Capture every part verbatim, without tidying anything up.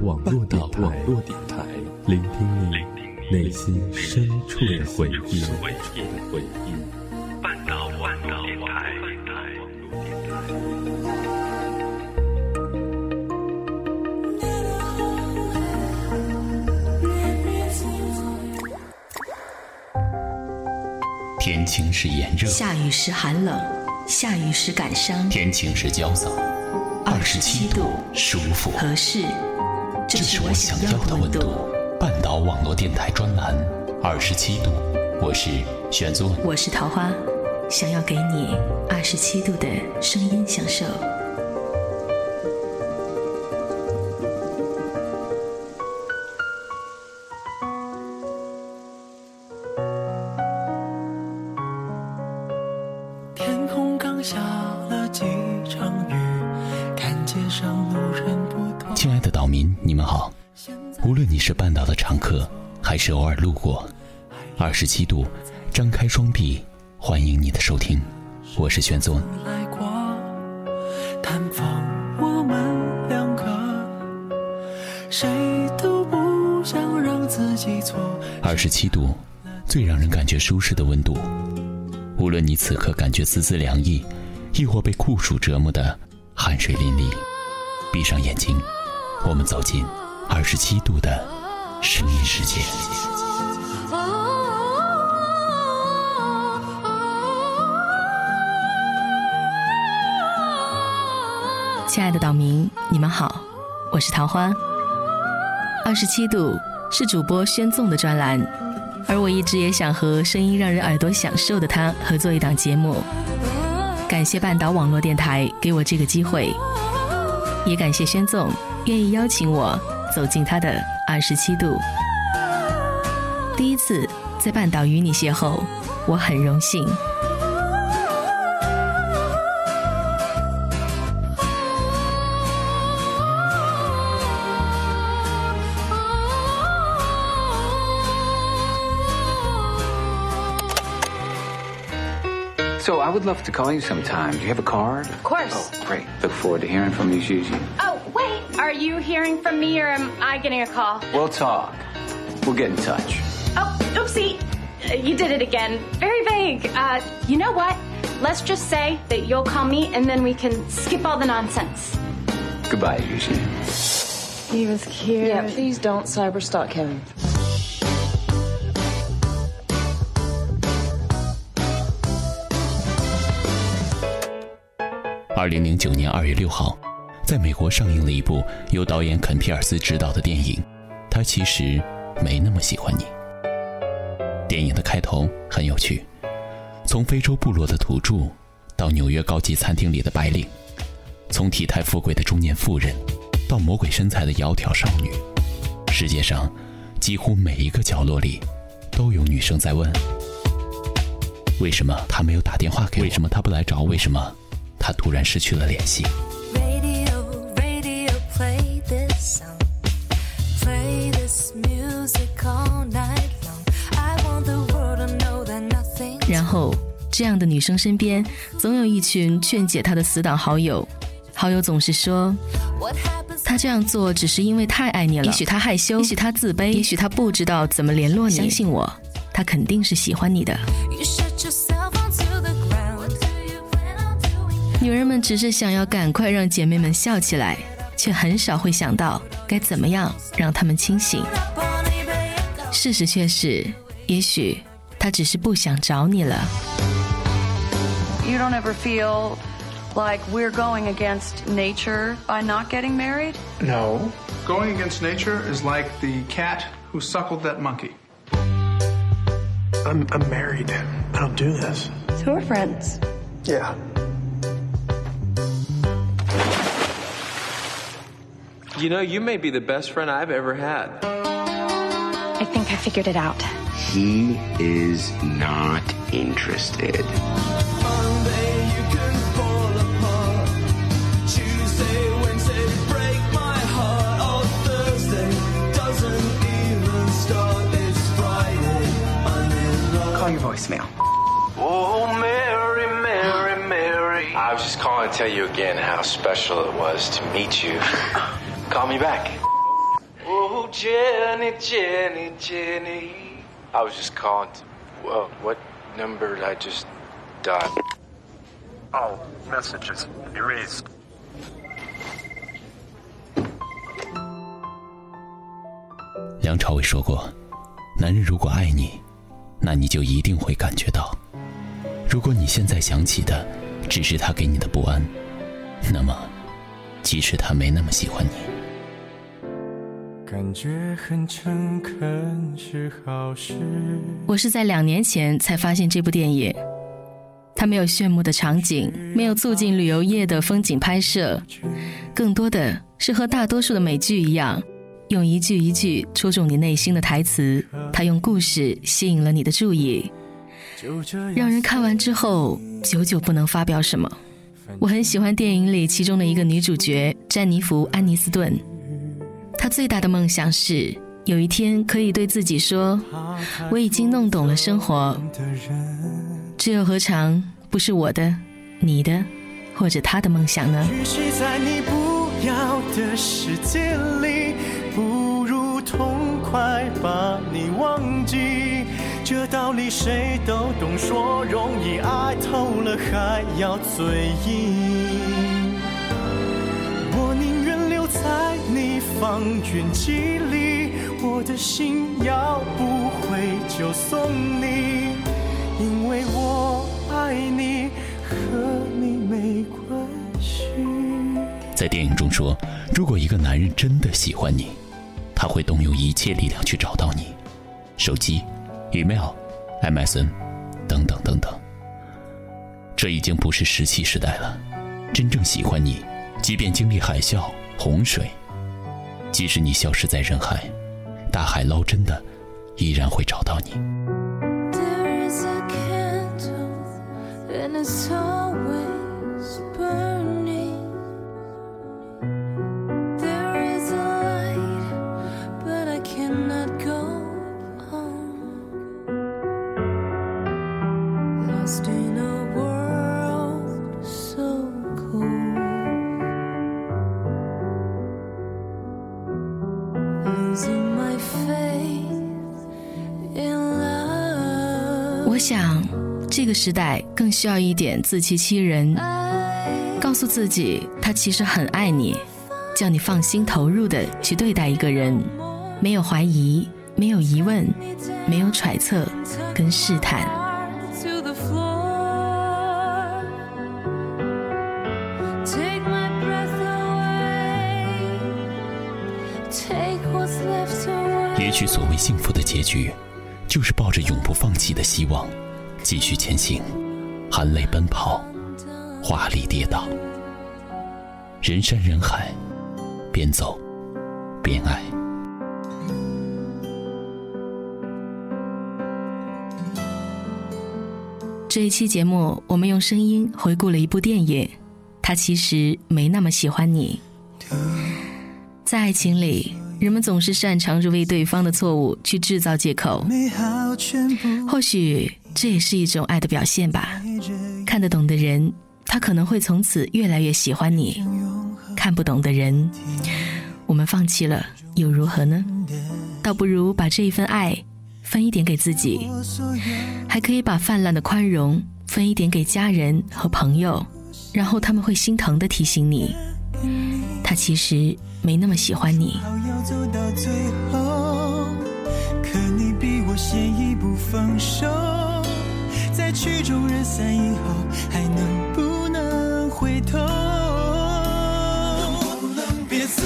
网络电台，网络电台，聆听你内心深处的回忆。回忆。半岛网络电台。 天晴时炎热， 下雨时寒冷，下雨时感伤， 天晴时焦躁，二十七度舒服合适， 这是我想要的温度。半岛网络电台专栏二十七度，我是玄宗， 我是桃花，想要给你二十七度的声音享受。 天空刚下了几场雨，看街上路人不多。 亲爱的岛民，你们好，无论你是半岛的常客还是偶尔路过，二十七度张开双臂欢迎你的收听，我是玄宗。 来过探访我们两个，谁都不想让自己错。 二十七度最让人感觉舒适的温度，无论你此刻感觉丝丝凉意，亦或被酷暑折磨的汗水淋漓，闭上眼睛，我们走进二十七度的声音世界。 亲爱的岛民，你们好，我是桃花。二十七度是主播宣纵的专栏，而我一直也想和声音让人耳朵享受的他合作一档节目。感谢半岛网络电台给我这个机会，也感谢宣纵愿意邀请我走进他的二十七度。第一次在半岛与你邂逅，我很荣幸。 So I would love to call you sometime. Do you have a card? Of course. Oh, great. Look forward to hearing from you, Gigi. Oh, wait. Are you hearing from me or am I getting a call? We'll talk. We'll get in touch. Oh, oopsie. Uh, you did it again. Very vague. Uh, you know what? Let's just say that you'll call me and then we can skip all the nonsense. Goodbye, Gigi. He was cute. Yeah, please don't cyberstalk him. 二零零九年二月六号，在美国上映了一部由导演肯皮尔斯执导的电影《他其实没那么喜欢你》。电影的开头很有趣，从非洲部落的土著到纽约高级餐厅里的白领，从体态富贵的中年妇人到魔鬼身材的窈窕少女，世界上几乎每一个角落里都有女生在问：为什么他没有打电话给我？为什么他不来找我？为什么他突然失去了联系？ Radio, radio, play this song. Play this music all night long. I want the world to know that nothing. 然后这样的女生身边总有一群劝解她的死党好友，好友总是说她这样做只是因为太爱你了，也许她害羞，也许她自卑，也许她不知道怎么联络你，相信我，她肯定是喜欢你的。女人们只是想要赶快让姐妹们笑起来，却很少会想到该怎么样让她们清醒。事实却是，也许她只是不想找你了。 You don't ever feel like we're going against nature by not getting married? No. Going against nature is like the cat who suckled that monkey. I'm, I'm married. I don't do this. So we're friends. Yeah. You know, you may be the best friend I've ever had. I think I figured it out. He is not interested. Monday you can fall apart. Tuesday, Wednesday break my heart. Oh, Thursday doesn't even start. It's Friday. I'm in love. Call your voicemail. Oh, Mary, Mary, Mary. I was just calling to tell you again how special it was to meet you. Call me back. Oh, Jenny, Jenny, Jenny. I was just calling to, well, what number did I just dial? Oh, messages erased. 梁朝伟说过，男人如果爱你，那你就一定会感觉到。如果你现在想起的只是他给你的不安，那么即使他没那么喜欢你。 感觉很诚恳是好事。 我是在两年前才发现这部电影，它没有炫目的场景，没有促进旅游业的风景拍摄，更多的是和大多数的美剧一样，用一句一句戳中你内心的台词，它用故事吸引了你的注意，让人看完之后久久不能发表什么。我很喜欢电影里其中的一个女主角詹妮弗·安妮斯顿，她最大的梦想是有一天可以对自己说，我已经弄懂了生活，这又何尝不是我的、你的或者他的梦想呢？ 与其在你不要的世界里，不如痛快把你忘记，这道理谁都懂，说容易，爱透了还要嘴硬。我宁愿留在你方圆几里，我的心要不回就送你，因为我爱你，和你没关系。 在电影中说，如果一个男人真的喜欢你，他会动用一切力量去找到你，手机、email、M S N 等等等等。这已经不是石器时代了，真正喜欢你，即便经历海啸、洪水，即使你消失在人海，大海捞针的依然会找到你。 There is a candle and it's always burning. There is a light, but I cannot go on. Lost in a world so cold, losing my faith in love. 我想这个时代更需要一点自欺欺人，告诉自己他其实很爱你，叫你放心投入的去对待一个人，没有怀疑，没有疑问，没有揣测跟试探。 To the floor, take my breath away, take what's left away. 也许所谓幸福的结局，就是抱着永不放弃的希望，继续前行，含泪奔跑，华丽跌倒，人山人海，边走边爱。 这一期节目，我们用声音回顾了一部电影，它其实没那么喜欢你。在爱情里，人们总是擅长着为对方的错误去制造借口，或许这也是一种爱的表现吧。看得懂的人，他可能会从此越来越喜欢你；看不懂的人，我们放弃了又如何呢？倒不如把这一份爱分一点给自己，还可以把泛滥的宽容分一点给家人和朋友，然后他们会心疼地提醒你，他其实没那么喜欢你。 要走到最后，可你比我先一步放手，在曲终人散以后，还能不能回头？别走。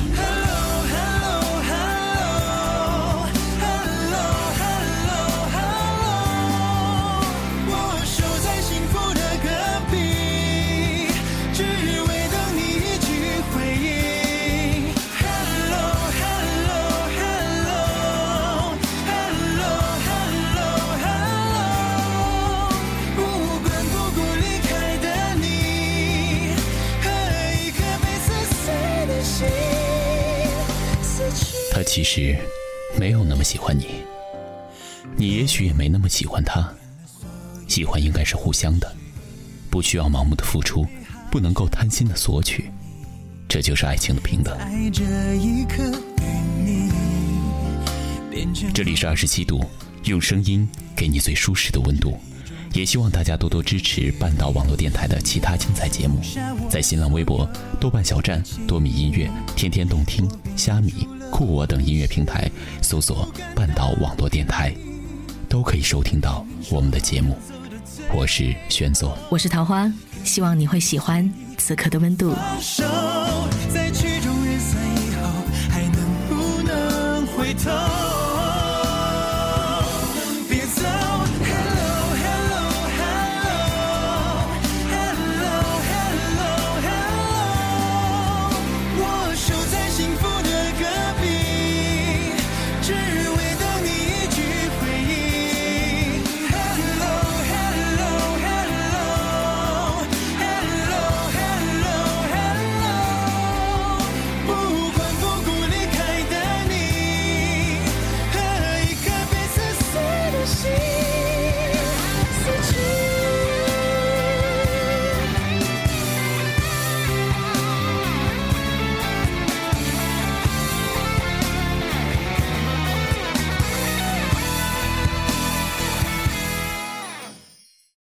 他其实没有那么喜欢你，你也许也没那么喜欢他。喜欢应该是互相的，不需要盲目的付出，不能够贪心的索取，这就是爱情的平等。 在这一刻与你这里是二十七度，用声音给你最舒适的温度。也希望大家多多支持半岛网络电台的其他精彩节目，在新浪微博、豆瓣小站、多米音乐、天天动听、虾米、酷我等音乐平台搜索半岛网络电台，都可以收听到我们的节目。我是玄总， 我是桃花，希望你会喜欢此刻的温度。